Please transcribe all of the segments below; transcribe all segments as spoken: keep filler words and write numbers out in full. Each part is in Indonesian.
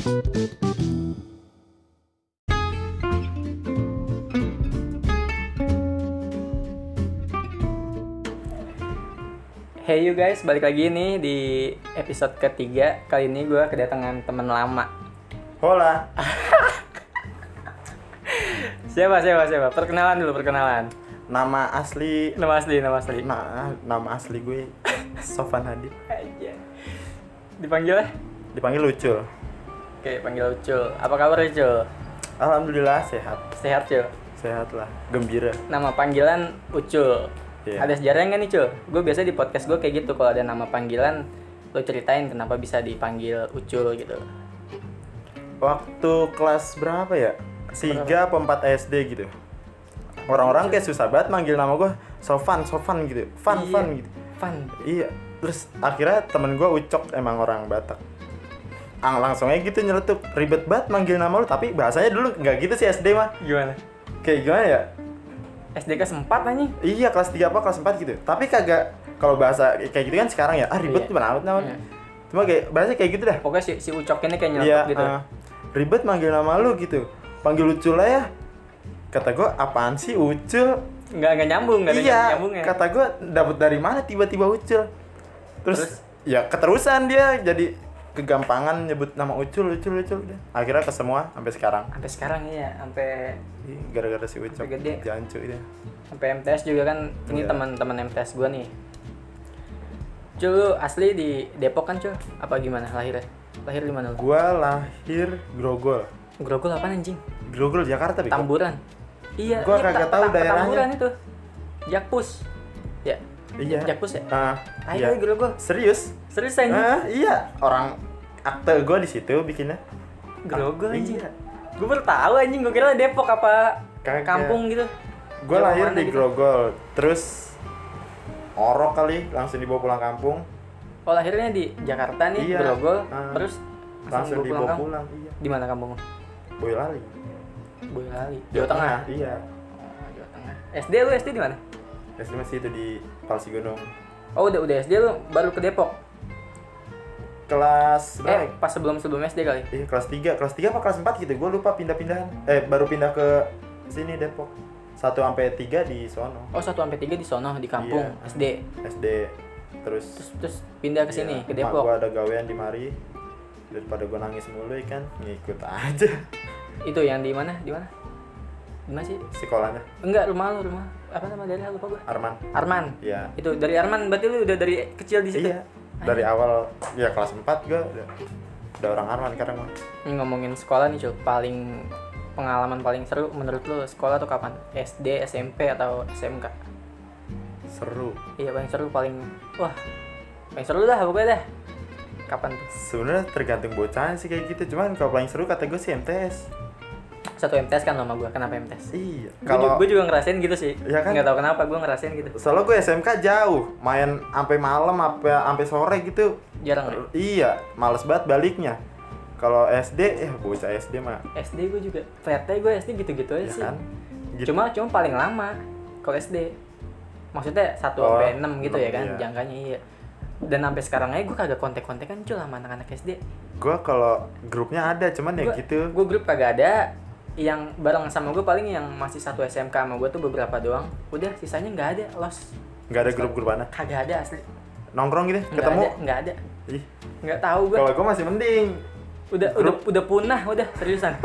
Hey you guys, balik lagi nih di episode ketiga. Kali ini gue kedatangan teman lama. Hola. Siapa, siapa, siapa? Perkenalan dulu, perkenalan. Nama asli Nama asli, nama asli. Nah, nama asli gue Sofan Hadi. Aja. Dipanggil ya? Dipanggil Ucul. Oke, panggil Ucul. Apa kabar Ucul? Alhamdulillah sehat. Sehat Cul? Sehat lah, gembira. Nama panggilan Ucul. Iya. Ada sejarahnya nggak nih Cul? Gue biasa di podcast gue kayak gitu, kalau ada nama panggilan lo ceritain kenapa bisa dipanggil Ucul gitu. Waktu kelas berapa ya? tiga atau empat S D gitu. Orang-orang kayak susah banget manggil nama gue Sofan, Sofan gitu. Fan, Iya. Fan gitu. Fan. Iya. Terus akhirnya temen gue Ucok, emang orang Batak. Ang langsung aja gitu nyeletuk, ribet banget manggil nama lu, tapi bahasanya dulu nggak gitu sih S D mah. Gimana? Kayak gimana ya? S D kelas empat anjing. Iya, kelas tiga apa kelas empat gitu. Tapi kagak, kalau bahasa kayak gitu kan sekarang ya, ah ribet Iya. gimana amat namanya. Iya. Cuma kayak bahasa kayak gitu dah. Pokoknya si, si Ucok ini kayak nyeletuk Iya, gitu. uh, ribet manggil nama lu gitu. Panggil Ucul lah ya. Kata gua, apaan sih Ucul? Nggak, nggak nyambung, nggak ada Iya, nyambungnya. kata gua dapet dari mana tiba-tiba Ucul. Terus, Terus? ya keterusan dia jadi kegampangan nyebut nama Ucul, Ucul, Ucul udah. Akhirnya ke semua sampai sekarang. Sampai sekarang ya, sampai Ih, gara-gara si Ucok Sampai gede. jancu itu. sampai M T S juga kan. Ini Iya. teman-teman M T S gua nih. Cul, lu asli di Depok kan, Cul? Apa gimana lahirnya? Lahir di mana lu? Gua lahir Grogol. Grogol apaan anjing? Grogol Jakarta, Biko. Tamburan. Iya, Gua iya, kagak peta- tahu peta- daerahnya. Tamburan itu. Jakpus. Ya. Iya. Jakpus ya? Ah, Ayo, iya. Grogol. Serius? Serius anjing? Ah, iya. Orang akte gue di situ bikinnya. Grogol Ah, anjing. Iya. Gue baru tahu anjing, gue kira Depok apa Kagak. kampung gitu. Gue Jauh lahir mana di gitu? Grogol. Terus orok kali langsung dibawa pulang kampung. Oh, lahirnya di Jakarta nih, Iya. Grogol. Ah. Terus Langsung dibawa dibawa kampung? pulang. Iya. Di mana kampung lu? Boyolali. Boyolali. Jawa Tengah. Iya. Oh, Jawa Tengah. S D lu S D di mana? S D masih itu di Palsi Gunung. Oh, udah udah S D lu baru ke Depok. Kelas berapa? Eh, pas sebelum sebelum S D kali. Iya, kelas tiga. Kelas tiga apa kelas empat gitu. Gue lupa pindah-pindahan. Eh, baru pindah ke sini Depok. satu sampai tiga di sono. Oh, satu sampai tiga di sono di kampung Iya. S D. S D. Terus Terus terus pindah ke sini ke Mak Depok. gua ada gawean di mari. Daripada gue nangis mulu ya kan, ngikut aja Itu yang di mana? Di mana? Di mana sih? sekolahnya. Enggak, rumah lu, rumah. Apa nama daerah lupa gua. Arman. Arman. Iya. Itu dari Arman, berarti lu udah dari kecil di situ. Iya. Dari awal ya kelas empat gue udah, udah orang Arman sekarang mah. Ini ngomongin sekolah nih, Cul. Paling pengalaman paling seru menurut lu sekolah tuh kapan? S D, S M P atau S M K? Seru. Iya, paling seru paling wah. Paling seru dah pokoknya dah. Kapan tuh? Sebenarnya tergantung bocahnya sih kayak gitu. Cuman kalau paling seru kata gue sih M T S. Satu M T S kan sama gua. Kenapa M T S? Iya. Kalau Kalau gue juga ngerasain gitu sih. Iya kan? Nggak tahu kenapa gue ngerasain gitu. soalnya gue S M K jauh, main sampai malam sampai sampai sore gitu. Jarang ya? Iya, males banget baliknya. Kalau S D ya bocah S D mah S D gue juga. Ternyata gue S D gitu-gitu aja ya sih. kan. Gitu. Cuma cuma paling lama kalau S D. Maksudnya satu Oh, sampai enam gitu ya enam, kan iya. jangkanya iya. Dan sampai sekarang aja gue kagak kontek-kontekan Cul sama anak-anak S D. Gue kalau grupnya ada, cuman ya Gua- gitu. Gue grup kagak ada. Yang bareng sama gue paling yang masih satu S M K sama gue tuh beberapa doang. Udah sisanya nggak ada, los. Nggak ada grup-grup mana? Kagak ada asli. Nongkrong gitu, Nggak ketemu. ada, nggak ada. Ih, Nggak tahu gue. kalau gue masih mending. Udah udah udah punah, udah seriusan.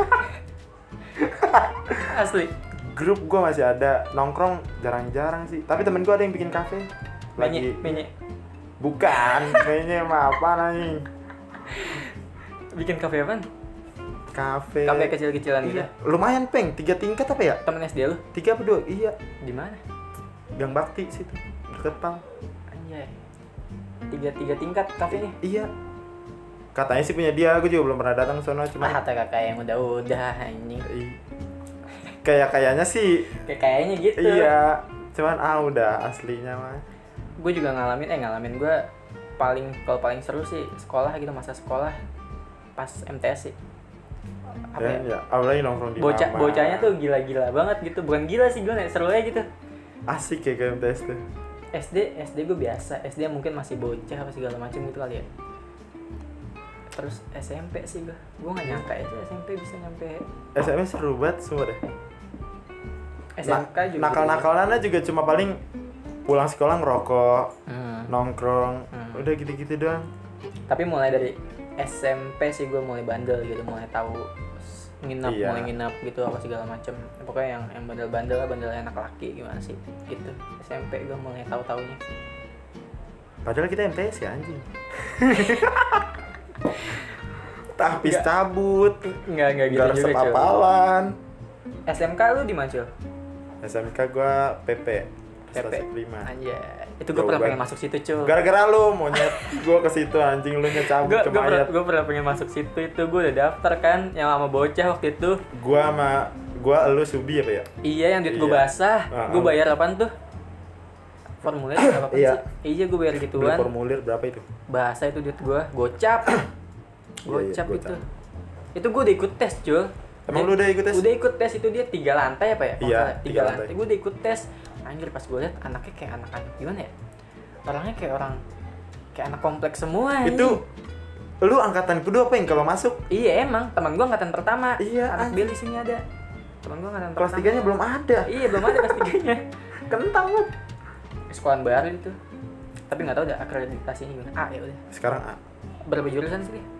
Asli. Grup gue masih ada, nongkrong jarang-jarang sih. Tapi temen gue ada yang bikin kafe. Menye, menye. Bukan, kayaknya mah apa nih? Bikin kafe apaan? Kafe. Kafe kecil-kecilan gitu. Iya. Lumayan peng, tiga tingkat apa ya? Temen S D lu? Tiga apa dua? Iya. Di mana? Gang Bakti situ. Deket Pal. Anjay. Tiga tiga tingkat kafenya. Iya. Katanya sih punya dia, gue juga belum pernah datang ke sono cuma. Ah, kata kakak yang udah-udah anjing. Ih. Kayak kayaknya sih. Kayak kayaknya gitu. Iya. Cuman ah udah aslinya mah. Gue juga ngalamin eh ngalamin gue paling kalau paling seru sih sekolah gitu, masa sekolah pas M T S sih. Apa Dan ya? ya, apalagi nongkrong di Bocah mama. bocahnya tuh gila-gila banget gitu. Bukan gila sih gue, seru aja gitu. Asik ya kayak M T S tuh. S D S D gue biasa. S D mungkin masih bocah apa segala macam gitu kali ya. Terus S M P sih gue, gue nggak nyangka aja S M P bisa nyampe. S M P seru banget semua deh. S M K juga. Nakal-nakalannya juga cuma paling pulang sekolah ngerokok, Hmm. nongkrong, Hmm. udah gitu-gitu doang. Tapi mulai dari S M P sih gue mulai bandel gitu, mulai tahu nginap, Iya. mulai nginap gitu apa segala macem. Pokoknya yang yang bandel-bandel lah, bandel anak laki gimana sih gitu. S M P gue mulai tahu-taunya. Padahal kita M T S ya anjing. Habis Nggak. cabut, Enggak enggak gitu nggak juga resep cuy. apalan. S M K lu di mana cuy? S M K gua P P, P P. Stasiun Prima. Anjay. Itu gue Jauh pernah banget. pengen masuk situ cuy. Gara-gara lu monyet, gua ke situ anjing, lu nya cabut Gue ke gue pernah, mayat. gue pernah pengen masuk situ itu, gue udah daftar kan yang sama bocah waktu itu. Gua sama gua elu Subi apa ya? Iya yang duit gue Iya. basah, Ah, gue ah. bayar apaan tuh? Formulir apa apa Iya. sih? Iya gue bayar Beli gituan. formulir berapa itu? Bahasa itu duit gue, gocap. Gocap Iya, iya, itu. gocap. Itu gue udah ikut tes, Jul. Emang Dia- lu udah ikut tes? Udah ikut tes itu dia tiga lantai apa ya? Kalau Iya, nggak salah, tiga tiga lantai. lantai. Gue udah ikut tes. Anjir pas gue liat anaknya kayak anak-anak gimana ya? Orangnya kayak orang kayak anak kompleks semua. anjing. Itu lu angkatan kedua apa yang kalau masuk? Iya emang teman gue angkatan pertama. Iya, Anak anjing. Bill di sini ada. Teman gue angkatan Kelas pertama. tiganya belum ada. Iya belum ada kelas tiganya. Kentang banget. Sekolahan baru itu. Tapi nggak tahu udah akreditasinya gimana. A ya udah. Sekarang A. Berapa jurusan sih? dia?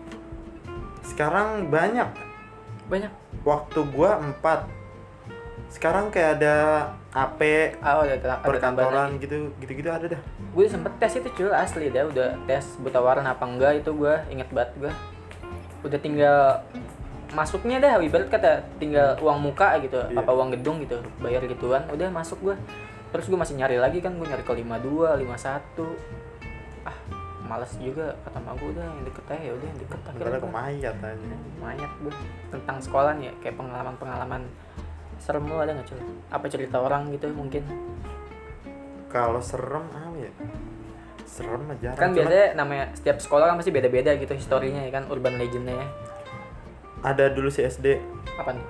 Sekarang banyak. Banyak. Waktu gua empat. Sekarang kayak ada A P, Ah, oh, ada, ada tambahan perkantoran lagi. gitu, gitu-gitu ada dah. Gue sempet tes itu cuy asli dah, udah tes buta warna apa enggak itu gue inget banget gue. Udah tinggal masuknya dah, ibarat kata tinggal uang muka gitu, Iya. apa uang gedung gitu, bayar gituan, udah masuk gue. Terus gue masih nyari lagi kan, gue nyari ke lima dua, lima satu. Ah, males juga kata mak gue, udah yang deket aja ya udah yang deket Karena akhirnya ke gua. mayat aja. Mayat gue tentang sekolah nih ya, kayak pengalaman-pengalaman serem lu ada nggak cuy? Apa cerita orang gitu mungkin? Kalau serem apa ya? Serem aja. Kan biasanya namanya setiap sekolah kan pasti beda-beda gitu historinya ya kan, urban legendnya ya. ada dulu si S D. Apa nih?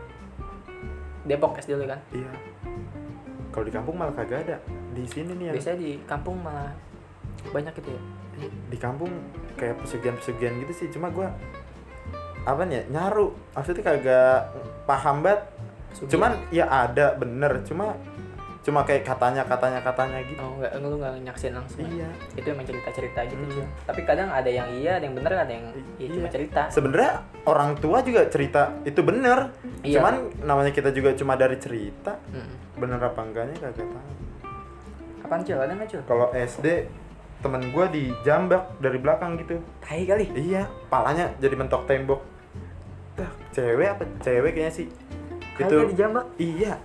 Depok S D lu kan? Iya. Kalau di kampung malah kagak ada. Di sini nih ya. Biasanya di kampung malah banyak gitu ya. Di kampung kayak pesugihan-pesugihan gitu sih. Cuma gua apa nih ya? Nyaru. Maksudnya kagak paham banget. Pesugihan. Cuman ya ada bener. Cuma cuma kayak katanya katanya katanya gitu. Oh enggak, lu enggak nyaksin langsung. Iya. Itu emang cerita-cerita gitu Hmm. cuy. Tapi kadang ada yang iya, ada yang bener, ada yang ya, cuma Iya. cerita. Sebenarnya orang tua juga cerita itu bener. Iya. Cuman namanya kita juga cuma dari cerita. Hmm. Bener apa enggaknya kagak tahu. Apaan cuy? Ada enggak cuy? Kalau S D temen gua dijambak dari belakang gitu. Tai kali. Iya, palanya jadi mentok tembok. Dah, cewek apa? Cewek kayaknya sih. Kagak dijambak. Iya.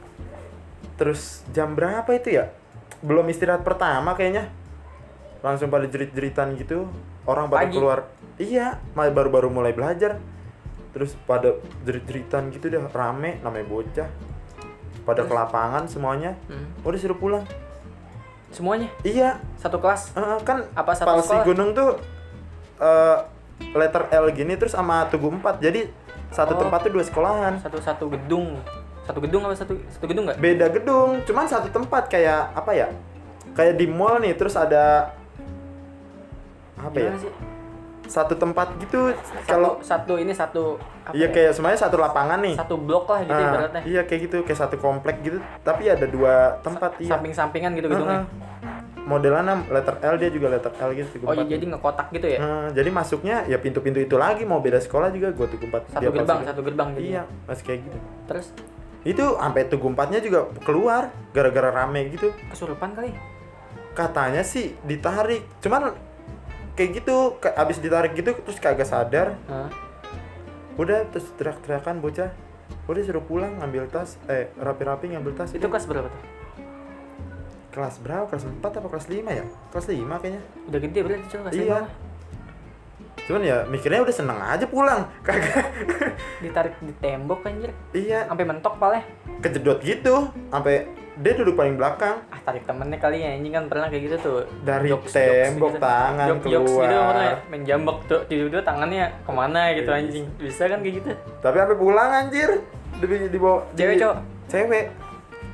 Terus jam berapa itu ya? Belum istirahat pertama kayaknya. Langsung pada jerit-jeritan gitu. Orang pada Pagi. keluar. Iya, ma- baru-baru mulai belajar. Terus pada jerit-jeritan gitu dah, rame namanya bocah. Pada Terus? ke lapangan semuanya. Hmm. Udah suruh pulang. Semuanya Iya, satu kelas. eh, kan Apa satu Palsi sekolah? Gunung tuh eh, letter L gini terus sama Tugu empat. Jadi satu Oh. tempat tuh dua sekolahan. Satu-satu gedung. Satu gedung apa satu satu gedung enggak? Beda gedung, cuman satu tempat kayak apa ya? Kayak di mall nih, terus ada apa ya? Gimana sih? Satu tempat gitu. Satu, Kalau satu ini satu apa iya ya? kayak semuanya satu lapangan nih. Satu blok lah gitu Ah, ibaratnya. iya kayak gitu, kayak satu komplek gitu. Tapi ada dua tempat iya. Samping-sampingan gitu gedungnya. Heeh. Modelannya letter L, dia juga letter L gitu. Tugu Oh iya empat. jadi ngekotak gitu ya? Nah, jadi masuknya ya pintu-pintu itu lagi, mau beda sekolah juga gua Tugu empat. Satu Dia gerbang, Palsi. satu gerbang gitu. Iya, masih kayak gitu. Terus Itu sampai Tugu empatnya juga keluar gara-gara rame gitu. kesurupan kali. Katanya sih ditarik. Cuman kayak gitu, ke- abis ditarik gitu terus kagak sadar. Hah? Udah terus teriak-teriakan bocah. Udah suruh pulang ngambil tas, eh rapi-rapi ngambil tas. Itu kelas berapa tuh? Kelas berapa? Kelas empat apa kelas lima ya? Kelas lima kayaknya. Udah gede berarti cuy kelas Iya. lima. Cuman ya mikirnya udah seneng aja pulang. Kagak. Ditarik di tembok anjir. Iya, Sampai mentok palnya. kejedot gitu. Sampai dia duduk paling belakang. Ah tarik temennya kali ya anjing kan pernah kayak gitu tuh. Dari Jokes- tembok, jokes gitu. tangan Jok- jokes gitu keluar. pernah main jambak tuh tiba-tiba tangannya kemana gitu Iya. anjing. Bisa kan kayak gitu. Tapi sampai pulang anjir. Di dibawa di- Cewek, cowok? Cewek.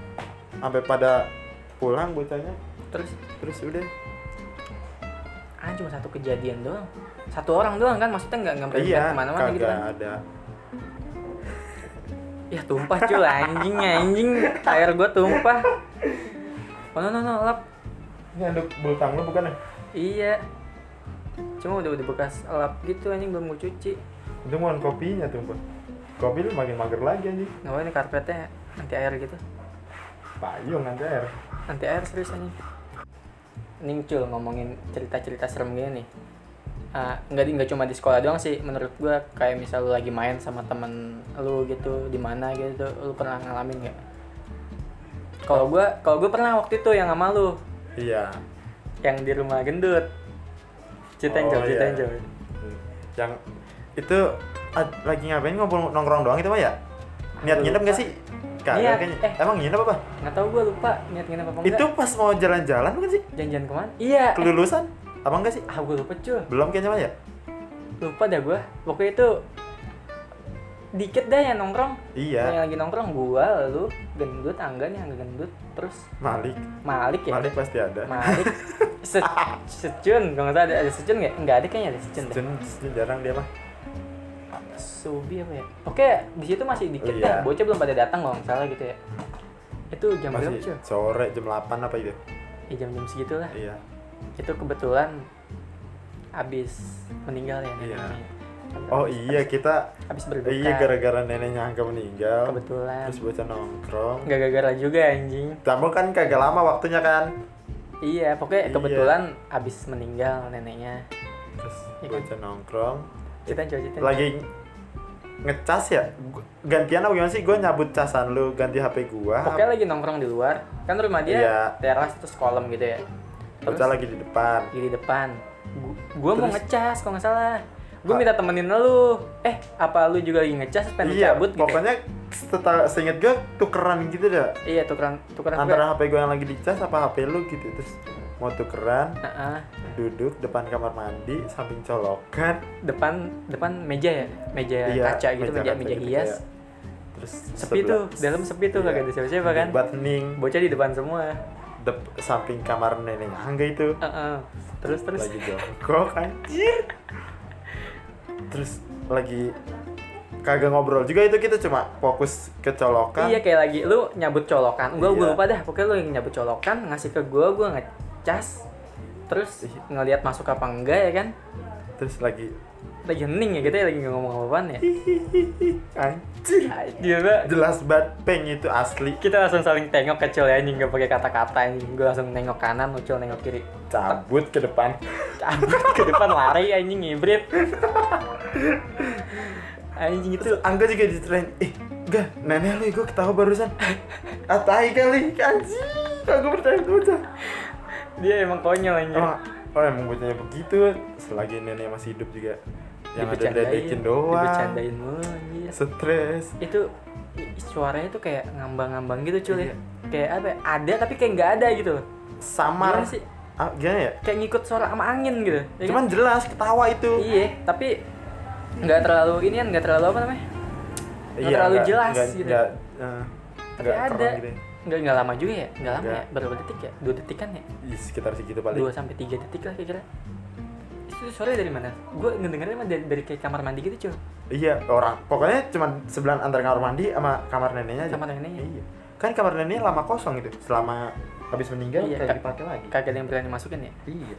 Sampai pada pulang bocahnya. Terus Terus udah kan cuma satu kejadian doang, satu orang doang kan, maksudnya nggak nggak Iya, kemana-mana gitu kagak kan. ada. Ya tumpah cuy, anjing anjing air gua tumpah. Oh no no no lap. Ini anduk bultang lu bukan ya? Iya. Cuma udah udah bekas lap gitu anjing, belum gua cuci. Itu mohon kopinya tuh, Pak. Kopi lu makin mager lagi anjing. Nggak ini karpetnya anti air gitu. Payung nanti air. Anti air serius anjing. Nih cul ngomongin cerita-cerita serem gini nih. Uh, nggak di- nggak cuma di sekolah doang sih menurut gua, kayak misal lu lagi main sama temen lu gitu di mana gitu, lu pernah ngalamin nggak? Kalau gua kalau gua pernah waktu itu yang sama lu, Iya. yang di rumah gendut. Ceritain Oh, Cul, ceritain iya. Cul. Yang itu ad- lagi ngapain ngobrol nongkrong doang itu mah ya? Niat Gua nginep lupa. nggak sih? Kagak Niat, kayaknya. eh. Emang nginep apa? Nggak tahu gua lupa niat nginep apa enggak. Itu pas mau jalan-jalan bukan sih? Janjian kemana? Iya. eh, Kelulusan? Apa enggak sih? Ah gua lupa Cul. Belum kayaknya mah ya? Lupa dah gua. Pokoknya itu dikit dah yang nongkrong. Iya. Yang lagi nongkrong gua, lu, gendut, Angga nih, Angga gendut, terus Malik. Malik ya. Malik pasti ada. Malik. Se secun, kalau nggak salah ada, ada secun nggak? Nggak ada kayaknya ada secun deh. Jen, jarang dia mah. Subi apa ya? Oke, di situ masih dikit Iya. dah. Bocah belum pada datang kalau nggak salah gitu ya. Itu jam berapa Masih cuy? sore jam delapan apa itu? Ya jam-jam segitu lah. Iya. Itu kebetulan abis meninggal ya Iya. neneknya. Oh Abis- iya kita Abis berduka. iya gara-gara neneknya Angga meninggal. Kebetulan. Terus bocah nongkrong. Nggak gara-gara juga anjing. Kamu kan kagak lama waktunya kan. Iya, pokoknya Iya. kebetulan abis meninggal neneknya. Terus Iya kan? bocah nongkrong. Kita coba ceritain. Lagi ngecas ya? Gu- Gantian apa gimana sih? Gue nyabut casan lu, ganti H P gua. Pokoknya lagi nongkrong di luar. Kan rumah dia Iya. teras terus kolam gitu ya. Terus Bocah lagi di depan. lagi di depan. Gu- Gua mau Terus- ngecas kalau nggak salah. Gue Ah. minta temenin lu. Eh, apa lu juga lagi ngecas pengen Iya, cabut gitu? ya? pokoknya setelah seinget gue tukeran gitu dah. Iya, tukeran tukeran Antara H P gue yang lagi dicas apa H P lu gitu. Terus mau tukeran, Heeh. duduk depan kamar mandi, samping colokan. depan depan meja ya, meja Iya, kaca gitu, meja kaca meja gitu hias. kayak. Terus Sepi tuh, dalam sepi tuh, kagak ada siapa-siapa kan. Buat hening, Bocah di depan semua. dep- samping kamar neneknya Angga itu. Heeh. Terus terus Lagi jongkok anjir. Terus lagi kagak ngobrol juga itu, kita cuma fokus ke colokan. Iya, kayak lagi lu nyabut colokan. Gua gua Iya. lupa dah. Pokoknya lu yang nyabut colokan, ngasih ke gua, gua ngecas. Terus Iya. ngelihat masuk apa enggak ya kan? Terus lagi Lagi hening ya kita ya, lagi nggak ngomong apa-apaan ya. anjir. Gila. Jelas banget peng itu asli. Kita langsung saling tengok ke Cul ya, anjing, gak pakai kata-kata anjing. Gue langsung nengok kanan, Ucul nengok kiri. Cabut ke depan. Cabut ke depan, lari anjing, ngibrit. Anjing itu. Terus Angga juga diterain, eh enggak, nenek lu gue ketawa barusan. Atai kali, anjir. Kagak percaya bocah. Dia emang konyol anjing. Emang, oh emang bocahnya begitu. Selagi nenek masih hidup juga. Yang ada Dibercandain, diledekin doang. Dibercandain mulu anjir. Stres. Itu i- suaranya tuh kayak ngambang-ngambang gitu Cul ya. Iya. Kayak apa ya? Ada tapi kayak nggak ada gitu loh. Samar. Gimana sih? Ah, gimana ya? Kayak ngikut suara sama angin gitu. Ya kan? Cuman jelas ketawa itu. Iya, tapi nggak terlalu ini kan, nggak terlalu apa namanya? Nggak terlalu enggak- jelas enggak, gitu. enggak, eh, Tapi enggak ada. keren gitu ya. Nggak nggak lama juga ya? Nggak lama Nggak. ya? Berapa detik ya? Dua detik kan ya? Ih, sekitar segitu paling. Dua sampai tiga detik lah kira-kira. Itu suaranya dari mana? Gue ngedengernya mah dari, dari kayak kamar mandi gitu cuy. Iya, orang. Pokoknya cuma sebelah antara kamar mandi sama kamar neneknya aja. Kamar neneknya. Iya. Kan kamar neneknya lama kosong gitu. Selama habis meninggal Iya, kayak Kak. dipakai lagi. Kagak ada yang berani masukin ya. Iya.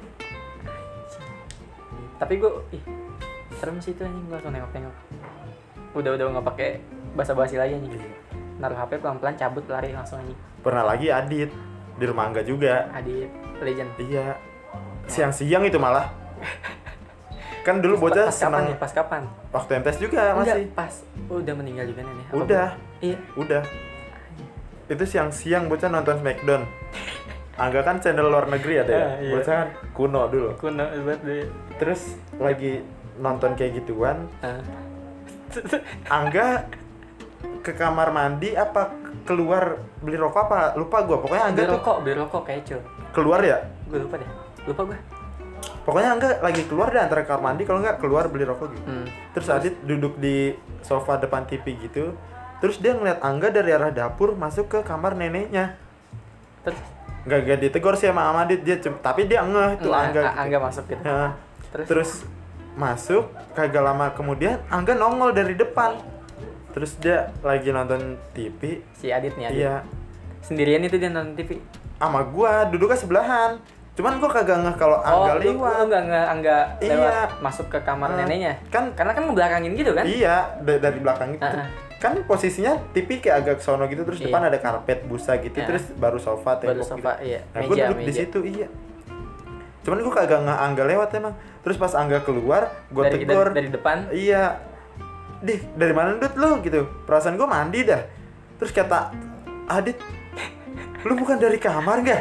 Tapi gue, ih, serem sih itu anjing, gue langsung nengok-nengok. Udah udah nggak pakai basa-basi lagi anjing. Naruh H P pelan-pelan, cabut, lari langsung anjing. Pernah lagi Adit di rumah Angga juga. Adit, legend. Iya. Siang-siang itu malah. Kan dulu Pas- bocah pas kapan senang ya? Pas kapan? waktu M T S juga Enggak, masih. pas udah meninggal juga nenek. Apa Udah. belum? Iya. Udah. Itu siang-siang bocah nonton Smackdown. Angga kan channel luar negeri ada ya. Ah, iya. Bocah kan kuno dulu. Kuno banget deh. Terus lagi nonton kayak gituan, Ah. Angga ke kamar mandi apa keluar beli rokok apa lupa gua. Pokoknya Angga Beli tuh rokok, beli rokok kayak cuy. keluar ya. Gue lupa deh. Lupa gue. Pokoknya Angga lagi keluar deh antara kamar mandi kalau nggak keluar beli rokok gitu. Hmm. Terus Adit duduk di sofa depan T V gitu. Terus dia ngeliat Angga dari arah dapur masuk ke kamar neneknya. Terus nggak nggak ditegur sih sama Amadit, dia cum- tapi dia ngeh tuh Nah, Angga. A- gitu. Angga masuk gitu. Ya. Terus, Terus masuk, kagak lama kemudian Angga nongol dari depan. Terus dia lagi nonton T V. si Adit nih Adit. Iya. Sendirian itu dia nonton T V. Sama gua duduknya sebelahan. Cuman gua kagak ngeh kalau Oh, Angga lu, lu lewat. enggak enggak enggak Iya. lewat masuk ke kamar Nah, neneknya. kan- Karena kan ngebelakangin gitu kan? Iya, da- dari belakang gitu. Ah, ah. Kan posisinya T V kayak agak sono gitu, terus Iya. depan ada karpet busa gitu, Ah. terus baru sofa Baru tembok sofa, gitu. iya. Nah, gua Meja, duduk di meja. situ, iya. Cuman gua kagak ngeh Angga lewat emang. Terus pas Angga keluar, gua dari, tegur. dari, dari depan. Iya. Dih, dari mana Dut lu gitu? Perasaan gua mandi dah. Terus kata Adit, lu bukan dari kamar nggak?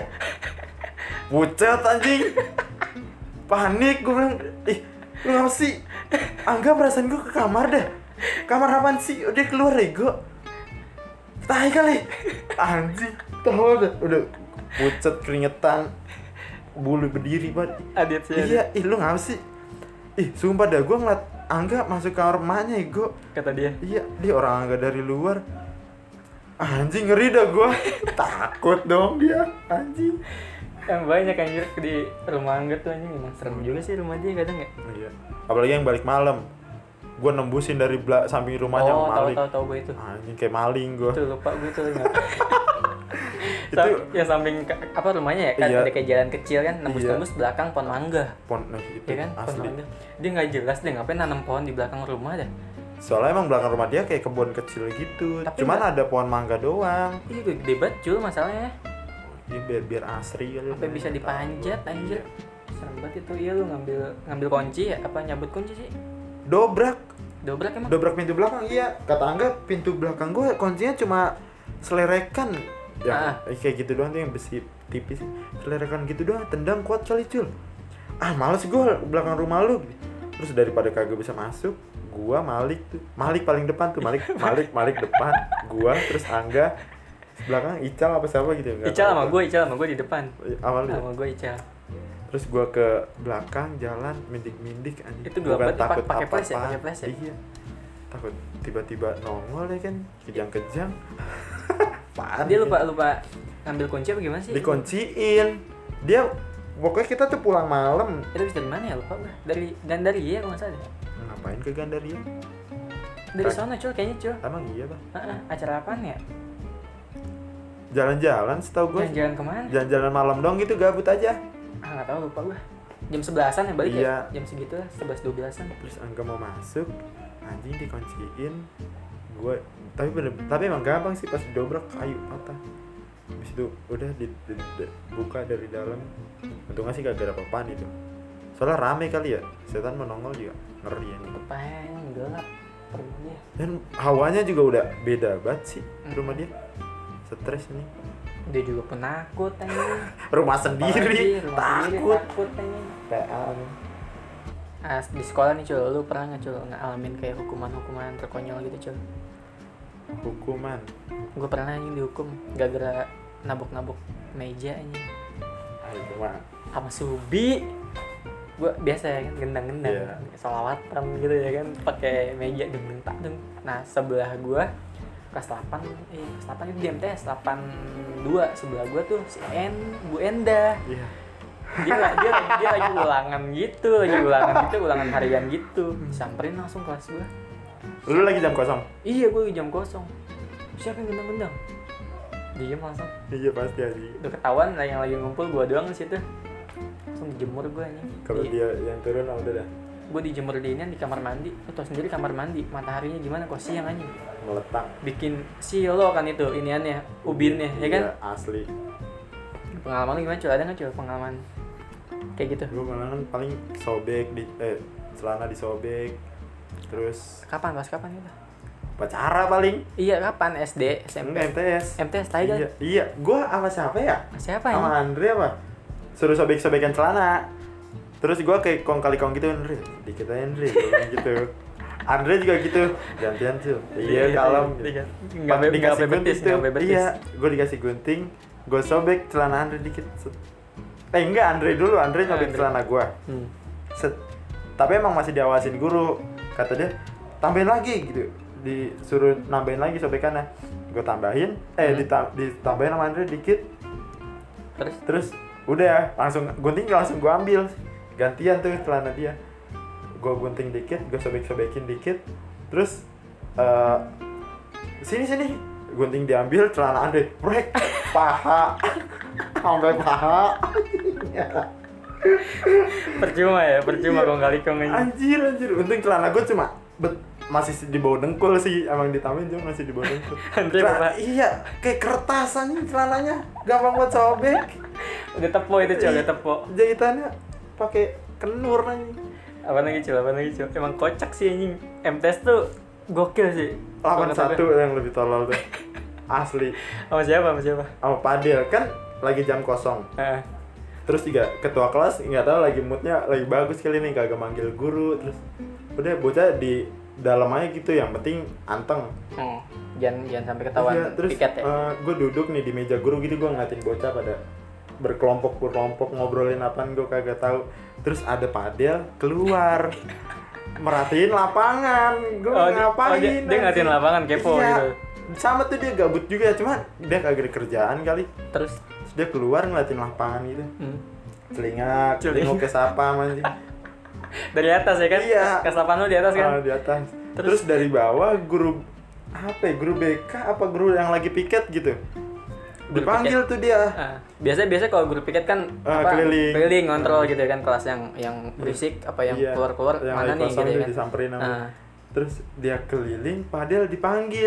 Pucet anjing. Panik gua bilang, ih, lu ngapa sih? Angga perasaan gua ke kamar dah. Kamar apaan sih? Udah keluar Rego. Tai kali. Anjing, tahu udah udah pucet keringetan. Bulu berdiri banget. Adit sih. Adit. Iya, ih lu ngapa sih? Ih, sumpah dah gua ngeliat Angga masuk kamar emaknya, Ego. Kata dia. Iya, dia orang Angga dari luar. Anjing, ngeri dah gua. Takut dong dia, anjing. Yang banyak anjir di rumah Angga tuh anjing, emang serem juga sih rumah dia kadang ya. Iya. Apalagi yang balik malam. Gua nembusin dari bela- samping rumahnya Oh, tahu maling. tahu tahu gue itu. Anjing kayak maling gua. Tuh lupa gue tuh enggak. Itu ya samping ke- apa rumahnya ya kan Iya. ada kayak jalan kecil kan nembus-nembus Iya. belakang pohon mangga. pon nah, itu Ya kan? Pohon asli. mangga. Dia nggak jelas deh ngapain nanam pohon di belakang rumah dah. Soalnya emang belakang rumah dia kayak kebun kecil gitu. Tapi Cuman nggak- ada pohon mangga doang. Iya gede banget Jul masalahnya. Ya, biar biar asri kali. Sampai bisa dipanjat anjir. Serem banget itu. Iya lu ngambil ngambil kunci ya apa nyabut kunci sih? Dobrak. Dobrak emang. Dobrak pintu belakang, iya. Kata Angga pintu belakang gue kuncinya cuma selerekan. Ya, Ah. kayak gitu doang tuh yang besi tipis. Selerekan gitu doang, tendang kuat kali Cul. Ah, males gue belakang rumah lu. Terus daripada kagak bisa masuk, gua Malik tuh. Malik paling depan tuh, Malik Malik Malik depan, gua terus Angga belakang Ical apa siapa gitu ya. Ical sama gue, Ical sama gue di depan. Awal Sama gue Ical. Terus gua ke belakang jalan mindik-mindik anjing. Itu gelap Bukan banget, takut pakai flash ya, apa-apaan. pakai flash ya? Iya. Takut tiba-tiba nongol ya kan, kejang-kejang. Apaan Dia ya? lupa lupa ngambil kunci apa gimana sih? Dikunciin. Dia pokoknya kita tuh pulang malam. Itu bisa dari mana ya lupa gue. Dari Gandaria kalau nggak salah. deh. Ngapain ke Gandaria? Dari Kag- sana Cul kayaknya Cul. Emang iya, Bang. Heeh, acara apaan ya? Jalan-jalan setahu gue. Jalan-jalan kemana? Jalan-jalan malam dong gitu, gabut aja. Ah nggak tahu lupa gue. Jam sebelasan ya balik Iya. ya? Jam segitu lah, sebelas dua belasan. Terus Angga mau masuk, anjing dikunciin. Gue tapi bener, tapi emang gampang sih pas dobrak kayu patah. Habis itu udah di, di- di- buka dari dalam. Untungnya sih gak ada apa-apaan itu. Soalnya rame kali ya, setan menongol juga ngeri ya. Apaan gelap perutnya. Dan hawanya juga udah beda banget sih rumah dia. Stres nih. Dia juga penakut anjing. Rumah sendiri, Apalagi, rumah sendiri, takut. takut anjing. P A. Ah, di sekolah nih Cul, lu pernah nggak Cul ngalamin kayak hukuman-hukuman terkonyol gitu Cul? Hukuman. Gue pernah anjing dihukum gara-gara nabok-nabok meja anjing Ah, itu mah. sama Subi. Gue biasa ya kan gendang-gendang, Iya. sholawatan gitu ya kan, pakai meja deng tak deng. Nah sebelah gue kelas delapan, eh kelas delapan itu di M T S delapan dua sebelah gue tuh si En, Bu Enda. Iya. Dia dia dia lagi ulangan gitu, lagi ulangan gitu, ulangan harian gitu. Samperin langsung kelas gue. Lu lagi jam kosong? Iya gue jam kosong. Siapa yang gendang-gendang? Diem langsung. Iya pasti aja. Udah ketahuan lah yang lagi ngumpul gue doang di situ. Langsung dijemur gue nih. Kalau dia yang turun ah, udah dah Gue dijemur di ini di kamar mandi. Lo tau sendiri kamar mandi, mataharinya gimana kok siang anjing. meletak. Bikin silo kan itu iniannya, ubinnya ya kan. Iya, asli. Pengalaman lu gimana Cul? Ada nggak Cul pengalaman kayak gitu? Gue malah kan paling sobek di eh celana disobek. Terus Kapan pas kapan gitu? pacara paling. Iya kapan S D, S M P, M T S. M T S tadi kan? Iya, iya. Gue sama siapa ya? Siapa Sama ya? Andre apa? Suruh sobek-sobekan celana. Terus gue kayak kong kali kong gitu, Andre. Dikit aja Andre, gua bilang gitu. Andre juga gitu. Gantian Cil. Iya, kalem. Nggak Pas be- nggak dikasih bebetis, gunting tuh. nggak bebetis. Iya, gue dikasih gunting. Gue sobek celana Andre dikit. Set. Eh enggak, Andre dulu. Andre nyobek Andre. celana gue. Hmm. Set. Tapi emang masih diawasin guru. Kata dia, tambahin lagi gitu. Disuruh nambahin lagi sobekannya. Gue tambahin, eh Hmm. dita- ditambahin sama Andre dikit. Terus? Terus udah langsung gunting langsung gue ambil gantian tuh celana dia, gue gunting dikit, gue sobek-sobekin dikit, terus uh, sini sini gunting diambil, celana Andre brek paha sampai paha. Percuma ya, percuma kok kali kong ini. Anjir anjir, untung celana gue cuma bet, masih di bawah dengkul sih, emang ditambahin cuma masih di bawah dengkul. Andre Celana- apa? iya kayak kertas anjing celananya, gampang buat sobek. Udah tepo itu cuy, udah tepo. Jahitannya pakai kenur anjing. Apa lagi cuy, apa lagi cuy. Emang kocak sih anjing. M T S tuh gokil sih. delapan satu yang lebih tolol tuh. Asli. Sama siapa, sama siapa? Sama Padel kan lagi jam kosong. Heeh. Terus juga ketua kelas nggak tahu lagi moodnya lagi bagus kali nih, kagak manggil guru, terus udah bocah di dalam aja gitu, yang penting anteng. Oh, jangan jangan sampai ketahuan Iya, terus piket ya. uh, gue duduk nih di meja guru gitu, gue ngeliatin bocah pada berkelompok berkelompok ngobrolin apaan gue kagak tahu. Terus ada Padel keluar merhatiin lapangan, gue Oh, dia- ngapain? oh, dia- dia ngeliatin anjing? lapangan, kepo Iya. gitu. Sama tuh dia gabut juga, cuma dia kagak ada kerjaan kali. Terus Terus dia keluar ngeliatin lapangan gitu, hmm. celingak, Celingak. celinguk ke siapa anjing. dari atas ya kan? Iya. Kelas delapan lu di atas kan? Ah, di atas. Terus? Terus, dari bawah guru apa ya, guru B K apa guru yang lagi piket gitu, Guru dipanggil tuh dia. Ah, biasa biasa kalau guru piket kan Ah, apa, keliling. ngontrol gitu kan, kelas yang yang berisik apa yang Iya, keluar-keluar yang mana lagi nih kosong gitu tuh kan. disamperin sama. Ah. Terus dia keliling, Padel dipanggil,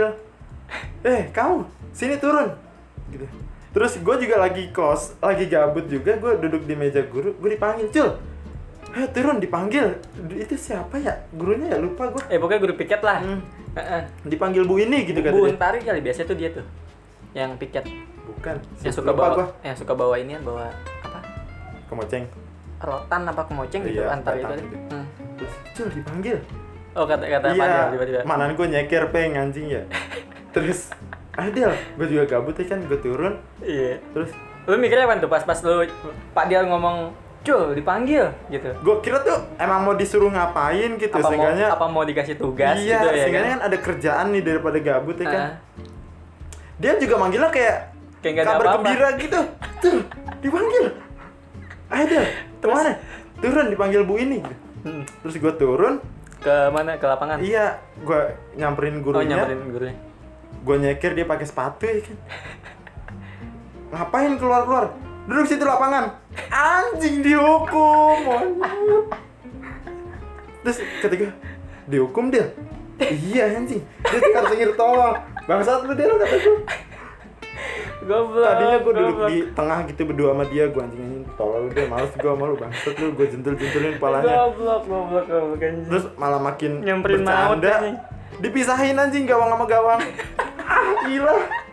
eh kamu sini turun gitu. Terus gue juga lagi kos, lagi gabut juga, gue duduk di meja guru, gue dipanggil, Cul, eh turun, dipanggil. Itu siapa ya gurunya ya, lupa gue. Eh pokoknya guru piket lah. Hmm. Heeh. Dipanggil Bu ini gitu Bu katanya. Untari kali biasa tuh dia tuh. Yang piket, Bukan, yang suka lupa bawa gua. yang suka bawa inian, bawa apa? Kemoceng. Rotan apa kemoceng gitu Iya, antar batang itu. gitu. Hmm. Terus Cul dipanggil. Oh kata kata Iya, Padel tiba-tiba. manan gue nyeker peng anjing ya. Terus Adel, gue juga gabut ya kan, gue turun. Iya. Terus Lu mikirnya apa tuh pas pas lu Pak Dial ngomong, "Cul, dipanggil." gitu. gue kira tuh emang mau disuruh ngapain gitu, Apa mau seenggaknya. apa mau dikasih tugas Iya, gitu ya seenggaknya kan? kan ada kerjaan nih daripada gabut ya kan. Ah, Dia juga manggilnya kayak Kayak nggak ada kabar apa-apa. gembira gitu. Tuh, dipanggil. Adel, kemana? Turun, dipanggil Bu ini. hmm. Terus gue turun, Ke mana? Ke lapangan? iya, gue nyamperin Oh, gurunya. nyamperin gurunya. Gue nyeker, dia pakai sepatu ya kan. Ngapain keluar-keluar? Duduk situ lapangan. Anjing, dihukum. anjing. Terus ketika dihukum dia, iya anjing. Dia tinggal sengir tolong. Bangsat lu dia, lu kata gue. Goblok. Tadinya gue duduk goblok. di tengah gitu berdua sama dia, gue anjing anjing tolong lu dia, males gue sama lu, bangsat lu, gue jentul-jentulin kepalanya. Goblok, goblok, goblok anjing. Terus malah makin Nyamperin maut bercanda. anjing. Dipisahin anjing gawang sama gawang. Ah, gila.